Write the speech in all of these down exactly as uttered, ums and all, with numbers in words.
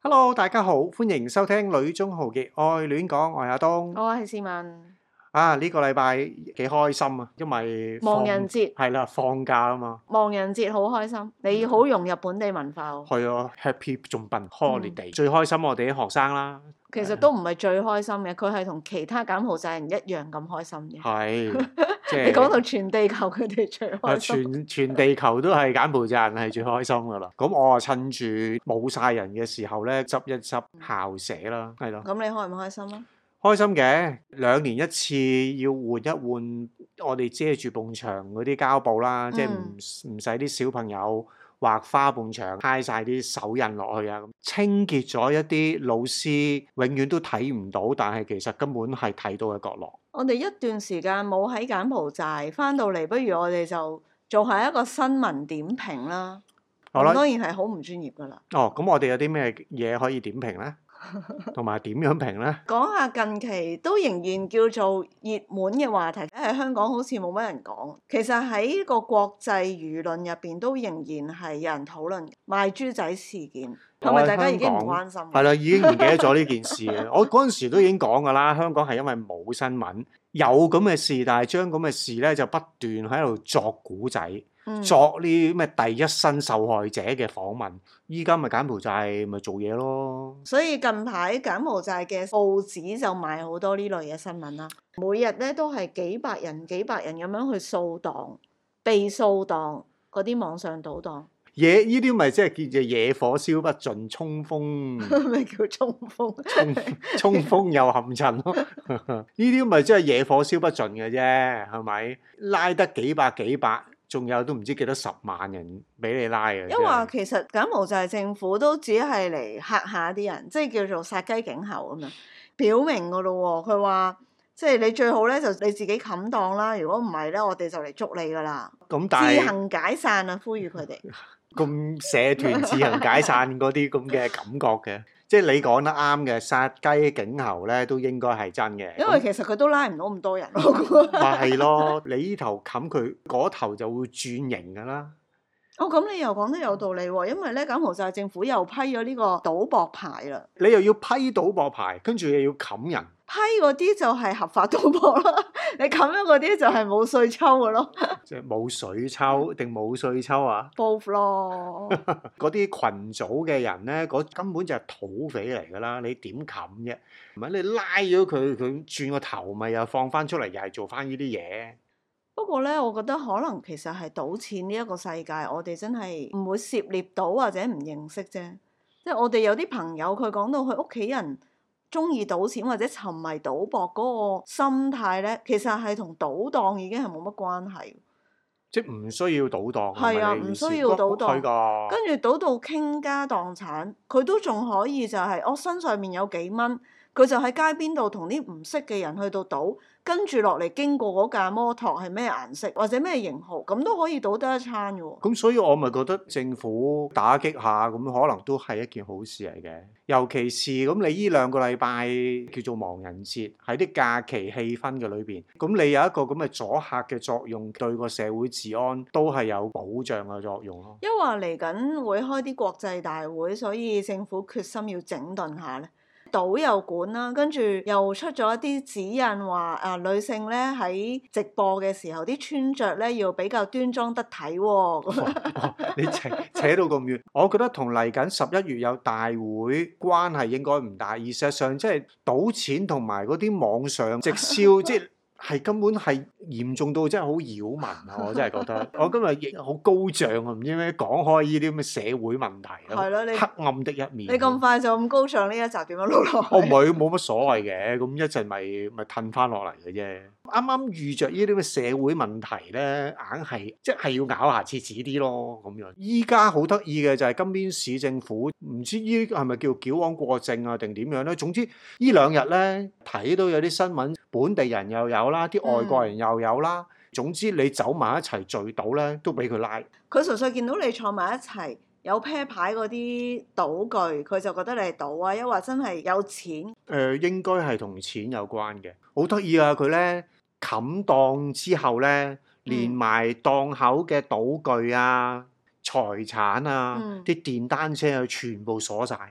Hello，大家好，歡迎收聽《女中豪傑愛戀講》，我係阿東。 我係市民。 啊，呢個禮拜幾開心啊，因為亡人節係啦，放假啊嘛。 亡人節好開心，你好融入本地文化喎。 係啊，Happy 仲笨 holiday，最開心我哋啲學生啦。 其實都唔係最開心嘅，佢係同其他柬埔寨人一樣咁開心嘅。 係，即係你講到全地球，佢哋最開心。 全全地球都係柬埔寨人係最開心噶啦。咁我啊趁住冇晒人嘅時候咧，執一執校舍啦，係咯。 咁你開唔開心啊？ 開心嘅，兩年一次要換一換我哋遮住埲牆嗰啲膠布啦，嗯、即係唔唔使啲小朋友畫花埲牆，揩晒啲手印落去啊！清潔咗一啲老師永遠都睇唔到，但係其實根本係睇到嘅角落。 我哋一段時間冇喺柬埔寨，翻到嚟不如我哋就做下一個新聞點評啦。好啦，當然係好唔專業噶啦。 哦，咁我哋有啲咩嘢可以點評呢？同埋點樣評呢？ 講下近期都仍然叫做熱門嘅話題，喺香港好似冇乜人講。其實喺個國際輿論入邊都仍然係有人討論賣豬仔事件，係咪大家已經唔關心？ 係啦，已經唔記得咗呢件事啊！我嗰陣時都已經講㗎啦，香港係因為冇新聞，有咁嘅事，但係將咁嘅事咧就不斷喺度作古仔。嗯、作呢咩第一身受害者嘅訪問，依家咪柬埔寨咪做嘢咯。所以近排柬埔寨嘅報紙就賣好多呢類嘅新聞啦，每日咧都係幾百人幾百人咁樣去掃檔、被掃檔嗰啲網上賭檔。 野呢啲咪即係叫做野火燒不盡，衝鋒咩叫衝鋒？ 衝衝鋒又陷陣咯。呢啲咪即係野火燒不盡嘅啫，係咪？拉得幾百幾百。仲有都唔知幾多十萬人俾你拉嘅， 因為其實柬埔寨政府都只係嚟嚇下啲人，即係叫做殺雞儆猴咁樣，表明噶咯喎。佢話即係你最好咧就你自己冚檔啦，如果唔係咧，我哋就嚟捉你噶啦。咁但係自行解散啊，呼籲佢哋。 咁社團自行解散嗰啲咁嘅感覺嘅。即係你講得啱嘅，殺雞儆猴咧都應該係真嘅。 因為其實佢都拉唔到咁多人咯。 咪係咯，你呢頭冚佢，嗰頭就會轉型㗎啦。 哦，咁你又講得有道理喎，因為咧柬埔寨政府又批咗呢個賭博牌啦。 你又要批賭博牌，跟住又要冚人。 批嗰啲就係合法賭博咯，你冚咗嗰啲就係冇稅抽嘅咯。 即係冇水抽定冇稅抽啊 ？Both 咯。 嗰啲群組嘅人咧，嗰根本就係土匪嚟㗎啦，你點冚啫？唔係你拉咗佢，佢轉個頭咪又放翻出嚟，又係做翻呢啲嘢。 不過咧，我覺得可能其實係賭錢呢一個世界，我哋真係唔會涉獵到或者唔認識啫。即係我哋有啲朋友，佢講到佢屋企人中意賭錢或者沉迷賭博嗰個心態咧，其實係同賭檔已經係冇乜關係。 即係唔需要賭檔。 係啊，唔需要賭檔。 的跟住賭到傾家蕩產，佢都仲可以就係、是、我身上面有幾蚊，佢就喺街邊度同啲唔識嘅人去到賭。跟住落嚟經過嗰架摩托係咩顏色或者咩型號，咁都可以賭得一餐嘅喎。 咁所以我咪覺得政府打擊下，咁可能都係一件好事嚟嘅。尤其是咁，你呢兩個禮拜叫做亡人節，喺啲假期氣氛嘅裏邊，咁你有一個咁嘅阻嚇嘅作用，對個社會治安都係有保障嘅作用咯。 因為嚟緊會開啲國際大會，所以政府決心要整頓下咧。賭又管啦，跟住又出咗一啲指引話啊，女性咧喺直播嘅時候啲穿着咧要比較端莊得體喎、哦哦。你扯扯到咁遠，我覺得同嚟緊十一月有大會關係應該唔大，而事實上即係賭錢同埋嗰啲網上直銷，即係。係根本係嚴重到真係好擾民啊！我真係覺得，我今日亦好高漲啊！唔知咩講開呢啲咁嘅社會問題啊， 係咯，你黑暗的一面。 你咁快就咁高漲呢一集點樣錄落去？ 我唔係冇乜所謂嘅，咁一陣咪咪褪翻落嚟嘅啫。啱啱遇着呢啲咁嘅社會問題咧，硬係即係要咬牙切齒啲咯咁樣。依家好得意嘅就係金邊市政府，唔知呢係咪叫矯枉過正啊定點樣咧？總之呢兩日咧睇到有啲新聞，本地人又有啦，啲外國人又有啦。嗯、總之你走埋一齊聚賭咧，都俾佢拉。 佢純粹見到你坐埋一齊。有啤牌嗰啲賭具，佢就覺得你係賭啊，抑或真係有錢？誒、 呃，應該係同錢有關嘅。好得意啊！佢咧冚檔之後咧，連埋檔口嘅賭具啊、財產啊、啲、嗯、電單車啊，全部鎖晒。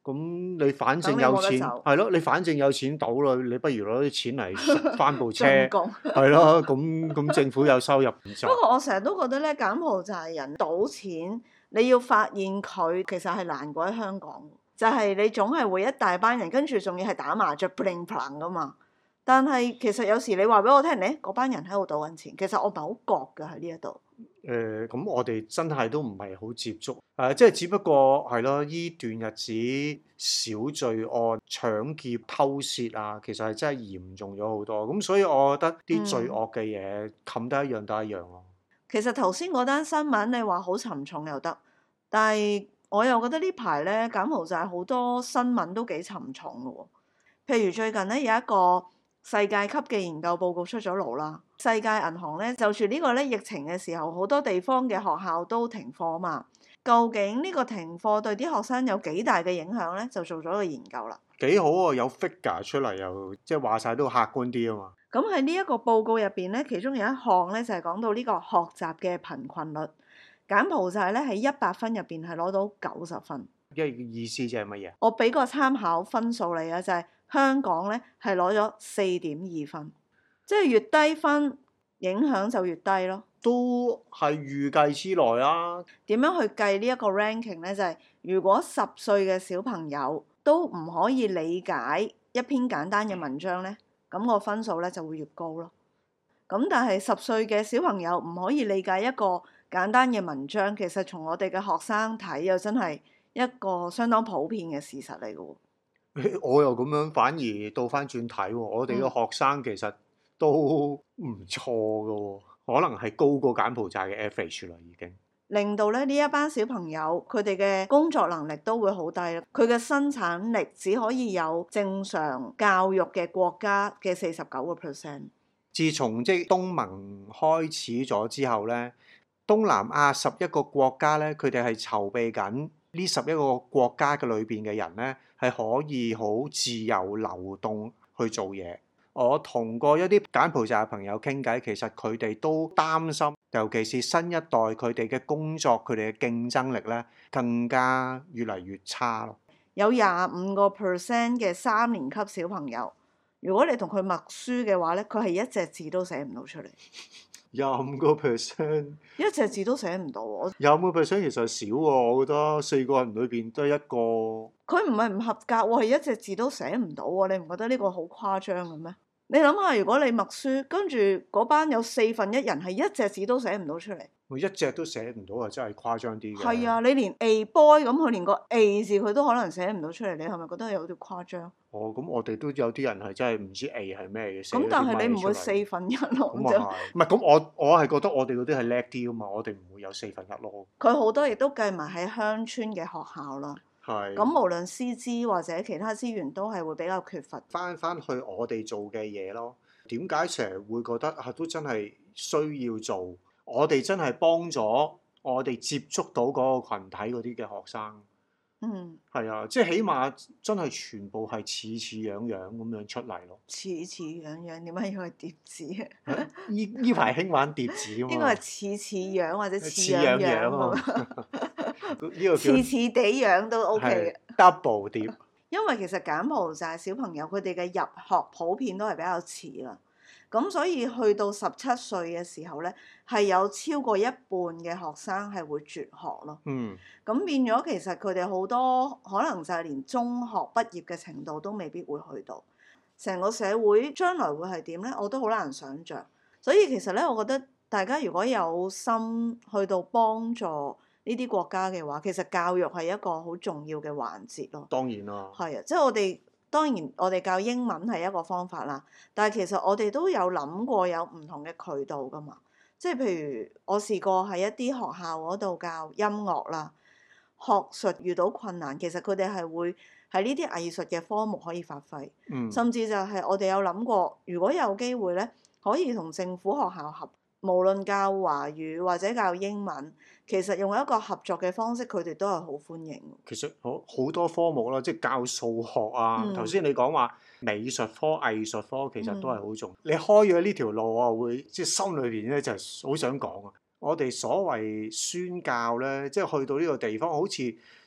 咁你反正等你有錢， 冇得走係咯，你反正有錢賭啦，你不如攞啲錢嚟翻部車， 進貢。 係咯，咁咁政府有收入唔就不過我成日都覺得咧，柬埔寨人賭錢，你要發現佢其實係難過喺香港，就係、你總係會一大班人，跟住仲要係打麻雀 bling bling 噶嘛。但係其實有時你話俾我聽，咧嗰班人喺度賭緊錢，其實我唔係好覺㗎喺呢一度。 誒咁、我哋真係都唔係好接觸，誒、即係只不過係咯，依段日子小罪案、搶劫、偷竊啊，其實係真係嚴重咗好多。咁所以我覺得啲罪惡嘅嘢冚得一樣得一樣咯。 其實頭先嗰單新聞你話好沉重又得，但係我又覺得呢排咧柬埔寨好多新聞都幾沉重嘅喎。譬如最近咧有一個世界級嘅研究報告出咗爐啦，世界銀行咧就住呢個咧疫情嘅時候，好多地方嘅學校都停課嘛。究竟呢個停課對啲學生有幾大嘅影響咧？就做咗個研究啦。 幾好啊，有 figure 出嚟又即係話晒都客觀啲啊嘛。 咁喺呢一個報告入邊咧，其中有一項咧就係、是、講到呢個學習嘅貧困率，柬埔寨咧喺一百分入邊係攞到九十分。 即係意思即係乜嘢？ 我俾個參考分數你啊，就係、是、香港咧係攞咗四點二分，即係越低分影響就越低咯。 都係預計之內啦。 點樣去計呢一個 ranking 咧？就係、是、如果十歲嘅小朋友都唔可以理解一篇簡單嘅文章咧，咁個分數咧就會越高咯。咁但係十歲嘅小朋友唔可以理解一個簡單嘅文章，其實從我哋嘅學生睇又真係一個相當普遍嘅事實嚟嘅喎。 我又咁樣反而倒翻轉睇喎，我哋嘅學生其實都唔錯嘅喎，可能係高過柬埔寨嘅 average 啦已經。 令到咧呢一班小朋友佢哋嘅工作能力都會好低啦，佢嘅生產力只可以有正常教育嘅國家嘅四十九個 percent。 自從即係東盟開始咗之後咧，東南亞十一個國家咧，佢哋係籌備緊呢十一個國家嘅裏邊嘅人咧，係可以好自由流動去做嘢。我同過一啲柬埔寨嘅朋友傾偈，其實佢哋都擔心，尤其是新一代佢哋嘅工作，佢哋嘅競爭力咧更加越嚟越差咯。 有廿五個 percent 嘅三年級小朋友，如果你同佢默書嘅話咧，佢係一隻字都寫唔到出嚟。 廿五個 percent， 一隻字都寫唔到喎。 廿五個 percent 其實少喎，我覺得四個人裏邊得一個。 佢唔係唔合格喎，係一隻字都寫唔到喎。你唔覺得呢個好誇張嘅咩？你諗下，如果你默書，跟住嗰班有四分一人係一隻字都寫唔到出嚟， 我一隻都寫唔到啊！真係誇張啲嘅。 係啊，你連 A boy 咁，佢連個 A 字佢都可能寫唔到出嚟，你係咪覺得有啲誇張？ 哦，咁我哋都有啲人係真係唔知 A 係咩嘅。 咁但係你唔會四分一咯， 咁啊係，唔係咁我我係覺得我哋嗰啲係叻啲啊嘛，我哋唔會有四分一咯。 佢好多亦都計埋喺鄉村嘅學校啦。 係。 咁無論師資或者其他資源都係會比較缺乏。 翻翻去我哋做嘅嘢咯，點解成日會覺得啊都真係需要做？我哋真係幫咗我哋接觸到嗰個羣體嗰啲嘅學生。 嗯。 係啊，即係起碼真係全部係似似樣樣咁樣出嚟咯。 似似樣樣，點解要係疊字啊？ 呢呢排興玩疊字啊嘛。 應該係似似樣或者似似樣樣樣啊。呢個叫似似地樣都 OK 嘅。 double 疊。 因為其實柬埔寨小朋友佢哋嘅入學普遍都係比較遲啦，咁所以去到十七歲嘅時候咧，係有超過一半嘅學生係會輟學咯。 嗯。 咁變咗其實佢哋好多可能就係連中學畢業嘅程度都未必會去到。成個社會將來會係點咧？我都好難想像。所以其實咧，我覺得大家如果有心去到幫助呢啲國家嘅話，其實教育係一個好重要嘅環節咯。 當然啦。 係啊，即係我哋當然我哋教英文係一個方法啦，但係其實我哋都有諗過有唔同嘅渠道㗎嘛。即係譬如我試過喺一啲學校嗰度教音樂啦，學術遇到困難，其實佢哋係會喺呢啲藝術嘅科目可以發揮。 嗯。 甚至就係我哋有諗過，如果有機會咧，可以同政府學校合，無論教華語或者教英文，其實用一個合作嘅方式，佢哋都係好歡迎。 其實好好多科目啦，即係教數學啊。頭先、嗯、你講話美術科、藝術科，其實都係好重要。嗯、你開咗呢條路，我會即係心裏邊咧就係好想講啊。我哋所謂宣教咧，即係去到呢個地方，好似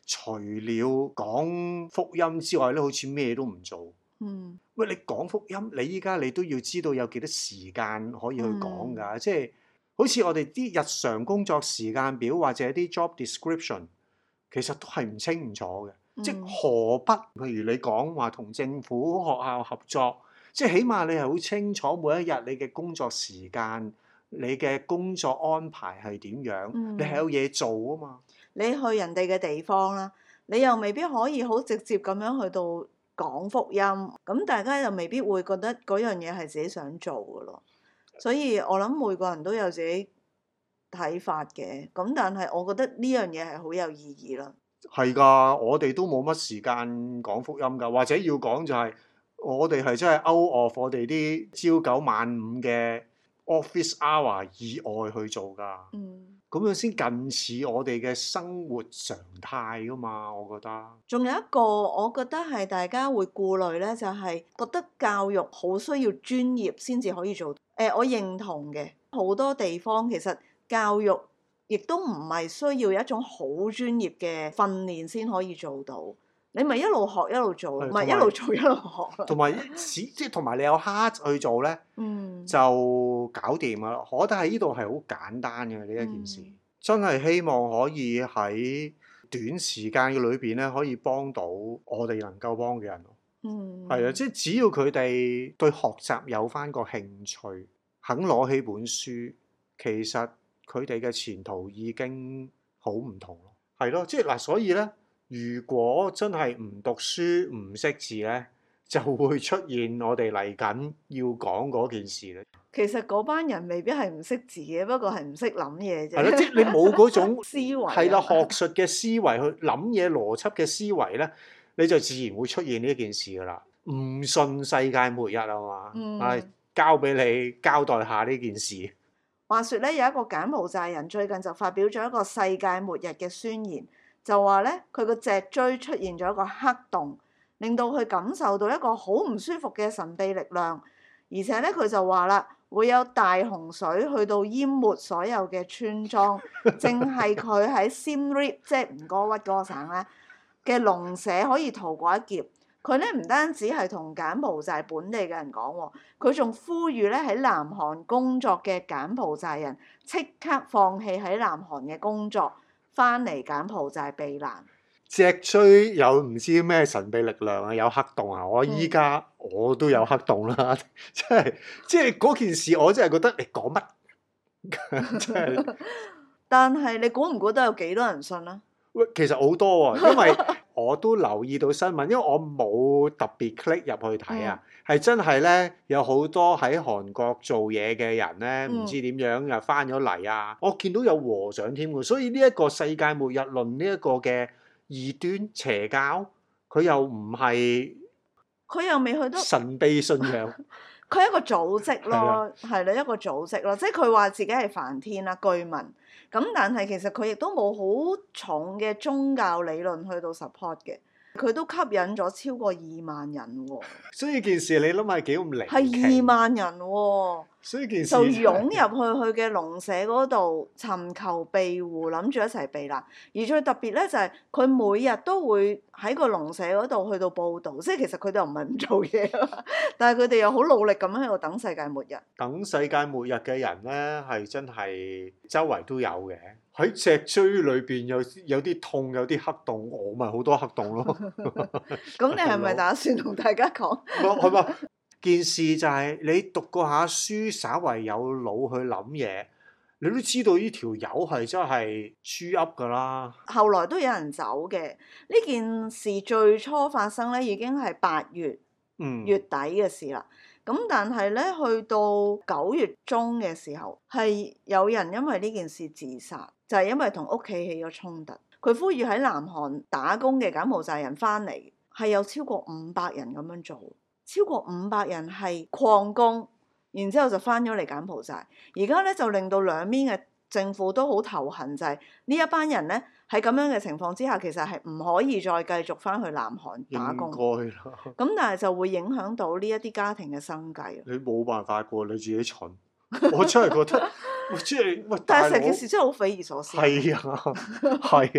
除了講福音之外咧，好似咩都唔做。 嗯， 喂，你講福音，你依家你都要知道有幾多時間可以去講㗎， 嗯、 即係好似我哋啲日常工作時間表或者啲 job description，其實都係唔清唔楚嘅。 嗯、 即係何不，譬如你講話同政府學校合作，即係起碼你係好清楚每一日你嘅工作時間，你嘅工作安排係點樣， 嗯、 你係有嘢做啊嘛。 你去人哋嘅地方啦，你又未必可以好直接咁樣去到講福音，咁大家又未必會覺得嗰樣嘢係自己想做嘅咯。所以我諗每個人都有自己睇法嘅，咁但係我覺得呢樣嘢係好有意義啦。 係㗎，我哋都冇乜時間講福音㗎，或者要講就係、是、我哋係真係 out of 我哋啲朝九晚五嘅 office hour 以外去做㗎。 嗯， 咁樣先近似我哋嘅生活常態㗎嘛，我覺得。 仲有一個我覺得係大家會顧慮咧，就係、是、覺得教育好需要專業先至可以做。誒、呃，我認同嘅，好多地方其實教育亦都唔係需要一種好專業嘅訓練先可以做到，你咪一路學一路做，唔係一路做一路學。 同埋即係同埋你有 heart 去做咧， 嗯、 就搞掂啦。我覺得喺呢度係好簡單嘅呢一件事，嗯、真係希望可以喺短時間嘅裏邊咧，可以幫到我哋能夠幫嘅人。嗯，係啊，即係只要佢哋對學習有返個興趣，肯攞起本書，其實佢哋嘅前途已經好唔同咯。係咯，即係嗱，所以咧，如果真係唔讀書唔識字咧，就會出現我哋嚟緊要講嗰件事咧。 其實嗰班人未必係唔識字嘅，不過係唔識諗嘢啫。 係咯，即係你冇嗰種思維， 係啦，學術嘅思維去諗嘢、邏輯嘅思維咧，你就自然會出現呢一件事噶啦。唔信世界末日啊嘛， 嗯、 係交俾你交代下呢件事。 話說咧，有一個柬埔寨人最近就發表咗一個世界末日嘅宣言，就話咧佢個脊椎出現咗一個黑洞，令到佢感受到一個好唔舒服嘅神秘力量，而且咧佢就話啦，會有大洪水去到淹沒所有嘅村莊，淨係佢喺 Siem Reap 即係吳哥窟嗰個省咧嘅農舍可以逃過一劫。佢咧唔單止係同柬埔寨本地嘅人講喎，佢仲呼籲咧喺南韓工作嘅柬埔寨人即刻放棄喺南韓嘅工作，翻嚟柬埔寨避難。 脊椎有唔知咩神秘力量啊，有黑洞啊！我依家我都有黑洞啦，嗯、即係即係嗰件事，我真係覺得你講乜？真係。 但係你估唔估得有幾多人信啊？ 喂，其實好多喎，因為我都留意到新聞，因為我冇特別 click 入去睇啊，係、嗯、真係咧有好多喺韓國做嘢嘅人咧，唔、嗯、知點樣又翻咗嚟啊！我見到有和尚添喎，所以呢一個世界末日論呢一個嘅異端邪教，佢又唔係， 佢又未去到神秘信仰， 佢係一個組織咯，係啦，一個組織咯，即係佢話自己係梵天啦，居民。咁但係其實佢亦都冇好重嘅宗教理論去到 support 嘅，佢都吸引咗超過二萬人喎、哦。 所以件事你諗下幾咁離奇？ 係二萬人喎、哦， 所以件事就湧入去佢嘅農舍嗰度尋求庇護，諗住一齊避難。而最特別咧就係、是、佢每日都會喺個農舍嗰度去到報導，即係其實佢哋又唔係唔做嘢啊，但係佢哋又好努力咁喺度等世界末日。 等世界末日嘅人咧，係真係周圍都有嘅。喺脊椎裏邊有有啲痛，有啲黑洞，我咪好多黑洞咯。 咁你係咪打算同大家講？ 係嘛？件事就係你讀過下書，稍為有腦去諗嘢，你都知道呢條友係真係豬噏㗎啦。 後來都有人走嘅。呢件事最初發生咧，已經係八月、嗯、月底嘅事啦。咁但係咧，去到九月中嘅時候，係有人因為呢件事自殺，就係因為同屋企起咗衝突。佢呼籲喺南韓打工嘅柬埔寨人翻嚟，係有超過五百人咁樣做，超過五百人係礦工，然之後就翻咗嚟柬埔寨。而家咧就令到兩邊嘅政府都好頭痕，就係呢一班人咧喺咁樣嘅情況之下，其實係唔可以再繼續翻去南韓打工。應該啦。咁但係就會影響到呢一啲家庭嘅生計。 你冇辦法過，你自己蠢。我真係覺得，即係喂， 但係成件事真係好匪夷所思。 係啊，係啊。 咁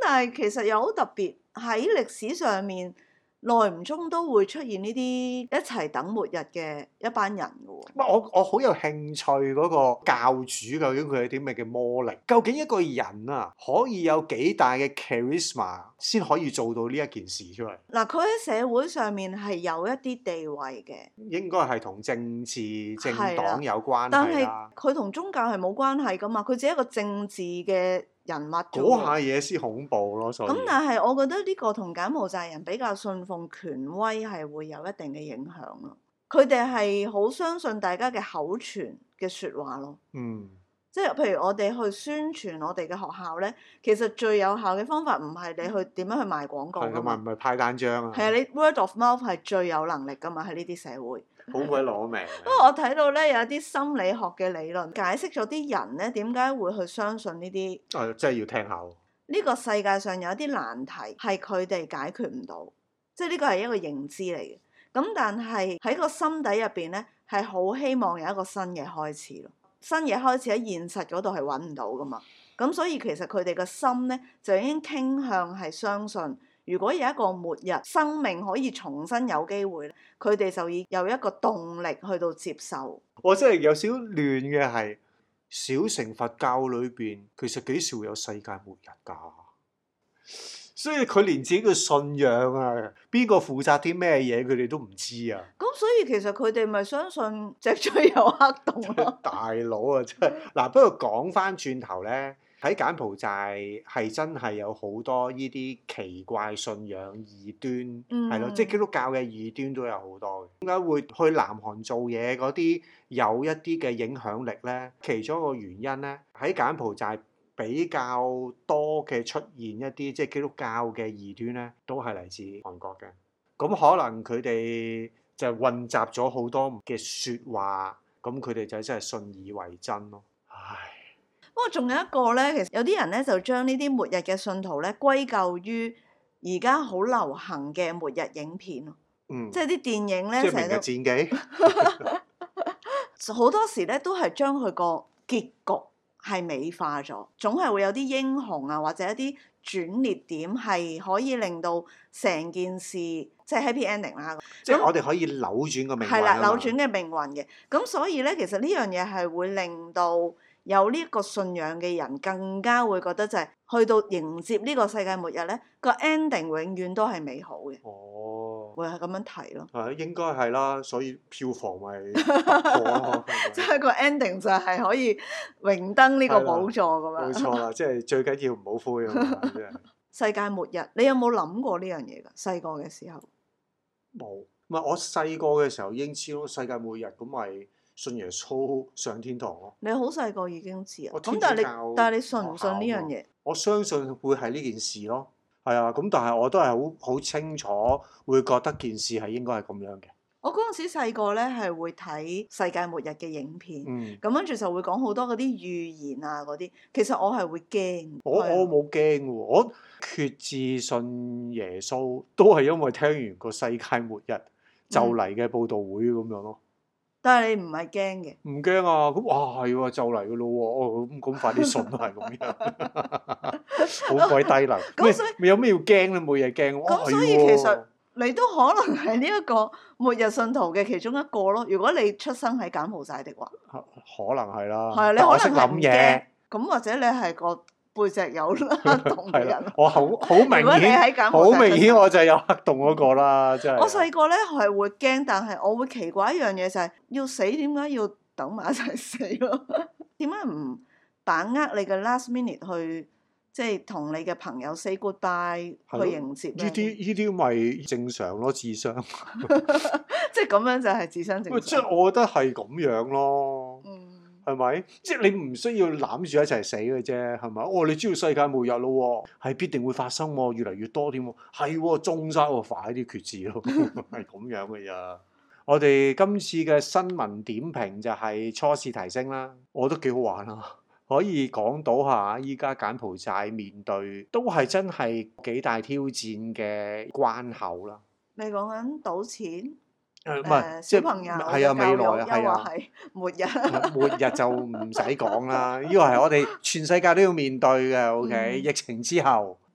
但係其實又好特別，喺歷史上面，耐唔中都會出現呢啲一齊等末日嘅一班人嘅喎。 我我好有興趣嗰個教主究竟佢有啲咩嘅魔力？究竟一個人啊可以有幾大嘅 charisma 先可以做到呢一件事出嚟？ 嗱，佢喺社會上面係有一啲地位嘅， 應該係同政治政黨有關但係係啦。 佢同宗教係冇關係噶嘛，佢只係一個政治嘅人物啫喎。 嗰下嘢先恐怖咯，所以咁但係我覺得呢個同柬埔寨人比較信奉權威係會有一定嘅影響咯。佢哋係好相信大家嘅口傳嘅説話咯。 嗯， 即係譬如我哋去宣傳我哋嘅學校咧，其實最有效嘅方法唔係你去點樣去賣廣告係㗎嘛， 㗎嘛， 唔係派單張啊， 係啊，你 word of mouth 係最有能力㗎嘛，喺呢啲社會。 好鬼攞命。 不過我睇到咧有一啲心理學嘅理論解釋咗啲人咧點解會去相信呢啲。 啊，真係要聽下喎。 呢個世界上有一啲難題係佢哋解決唔到，即係呢個係一個認知嚟嘅。咁但係喺個心底入邊咧，係好希望有一個新嘅開始咯。新嘅開始喺現實嗰度係揾唔到噶嘛。咁所以其實佢哋個心咧就已經傾向係相信，如果有一個末日，生命可以重新有機會咧，佢哋就已有一個動力去到接受。 我真係有少亂嘅係，小乘佛教裏邊其實幾時會有世界末日㗎？所以佢連自己嘅信仰啊，邊個負責啲咩嘢，佢哋都唔知啊！ 咁所以其實佢哋咪相信脊椎有黑洞咯。 大佬啊，真係嗱。不過講翻轉頭咧，喺柬埔寨係真係有好多呢啲奇怪信仰異端，係咯、 嗯， 即係基督教嘅異端都有好多嘅。點解會去南韓做嘢嗰啲有一啲嘅影響力咧？其中一個原因咧，喺柬埔寨比較多嘅出現一啲即係基督教嘅異端咧，都係嚟自韓國嘅。咁可能佢哋就混雜咗好多嘅説話，咁佢哋就真係信以為真咯。唉， 不過仲有一個咧，其實有啲人咧就將呢啲末日嘅信徒咧歸咎於而家好流行嘅末日影片咯。 嗯， 即係啲電影咧即係明日成日戰記， 都好多時咧都係將佢個結局係美化咗，總係會有啲英雄啊，或者一啲轉捩點係可以令到成件事即係 happy ending 啦。 即係我哋可以扭轉個命運係啦， 啊嘛扭轉嘅命運嘅。咁所以咧，其實呢樣嘢係會令到有呢一個信仰嘅人更加會覺得就係、是、去到迎接呢個世界末日咧，個 ending 永遠都係美好嘅。 哦， 會係咁樣睇咯。 係應該係啦，所以票房咪突破咯。 即係個 ending 就係可以榮登呢個寶座咁樣。 冇錯啦，即係最緊要唔好灰啊嘛，真係。 世界末日，你有冇諗過呢樣嘢㗎？細個嘅時候冇，唔係我細個嘅時候已經知咯，世界末日咁咪信耶穌上天堂咯。 你好細個已經知啊？ 我咁但係天主教你但係你信唔信呢樣嘢？ 我相信會係呢件事咯，係啊，咁但係我都係好好清楚會覺得件事係應該係咁樣嘅。 我嗰陣時細個咧係會睇世界末日嘅影片， 嗯， 咁跟住就會講好多嗰啲預言啊嗰啲。其實我係會驚。 我係啊我冇驚喎，我決志信耶穌都係因為聽完個世界末日就嚟嘅報道會咁樣咯。 但係你唔係驚嘅。 唔驚啊！咁哇係喎，就嚟嘅咯喎，哦咁咁快啲信都係咁樣，好鬼低能。 咁所以咩有咩要驚咧？冇嘢驚。哇咁所以係喎其實你都可能係呢一個末日信徒嘅其中一個咯。如果你出生喺柬埔寨的話， 可能係啦。 係啊，你但我識可能係唔諗嘢驚。咁或者你係個背脊有黑洞嘅係啦人。， 我好好明如果你顯， 喺柬埔好寨出生明顯我就係有黑洞嗰個啦，真係。 我細個咧係會驚，但係我會奇怪一樣嘢就係、要死點解要等埋一齊死咯？點解唔把握你嘅 last minute 去即係同你嘅朋友 say goodbye 係咯去迎接咧？ 呢啲呢啲咪正常咯，智商。 即係咁樣就係智商正喂，即常。 係我覺得係咁樣咯。 嗯， 係咪？即係你唔需要攬住一齊死嘅啫，係咪？哦，你知道世界末日咯喎，係必定會發生喎，越嚟越多添喎，係喎，中晒喎，快啲決志咯，係咁樣嘅咋。我哋今次嘅新聞點評就係初試提升啦，我覺得幾好玩啊，可以講到下依家柬埔寨面對都係真係幾大挑戰嘅關口啦。 你講緊賭錢？ 誒唔誒係，即係小朋友係啊，未來啊，係又啊。 話係末日。 末日就唔使講啦，呢個係我哋全世界都要面對嘅。OK，、 嗯疫情之後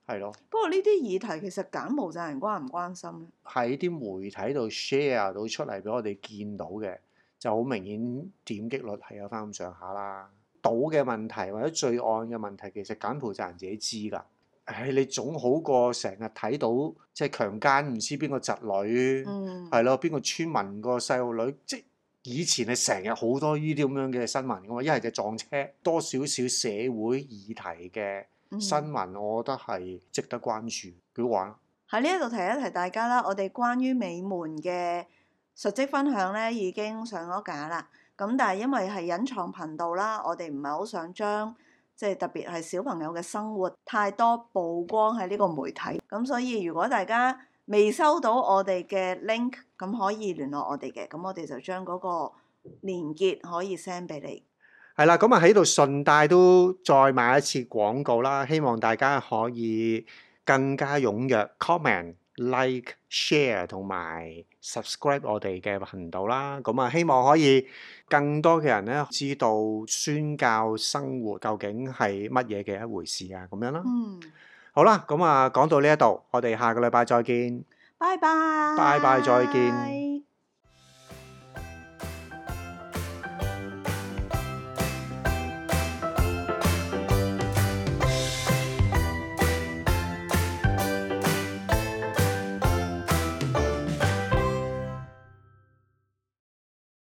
係咯， 不過呢啲議題其實柬埔寨人關唔關心咧？ 喺啲媒體度 share 到出嚟俾我哋見到嘅，就好明顯點擊率係有翻咁上下啦。賭嘅問題或者罪案嘅問題，其實柬埔寨人自己知㗎。唉，你總好過成日睇到即係強姦唔知邊個侄女， 嗯， 係咯，邊個村民個細路女，即係以前係成日好多呢啲咁樣嘅新聞㗎嘛，一係就撞車，多少少社會議題嘅新聞，我覺得係值得關注，幾好玩。 喺呢一度提一提大家啦，我哋關於美門嘅述職分享咧已經上咗架啦。咁但係因為係隱藏頻道啦，我哋唔係好想將即係特別係小朋友嘅生活太多曝光喺呢個媒體。咁所以如果大家未收到我哋嘅 link，咁可以聯絡我哋嘅，咁我哋就將嗰個連結可以 send 俾你。 係啦，咁啊喺度順帶都再賣一次廣告啦，希望大家可以更加踴躍 comment、like、share 同埋 subscribe 我哋嘅頻道啦。咁啊，希望可以更多嘅人咧知道宣教生活究竟係乜嘢嘅一回事啊，咁樣啦。 嗯， 好啦，咁啊講到呢一度，我哋下個禮拜再見。 拜拜。 拜拜，再見。